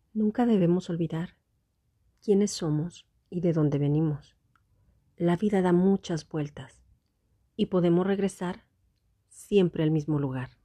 Nunca debemos olvidar quiénes somos y de dónde venimos. La vida da muchas vueltas y podemos regresar siempre al mismo lugar.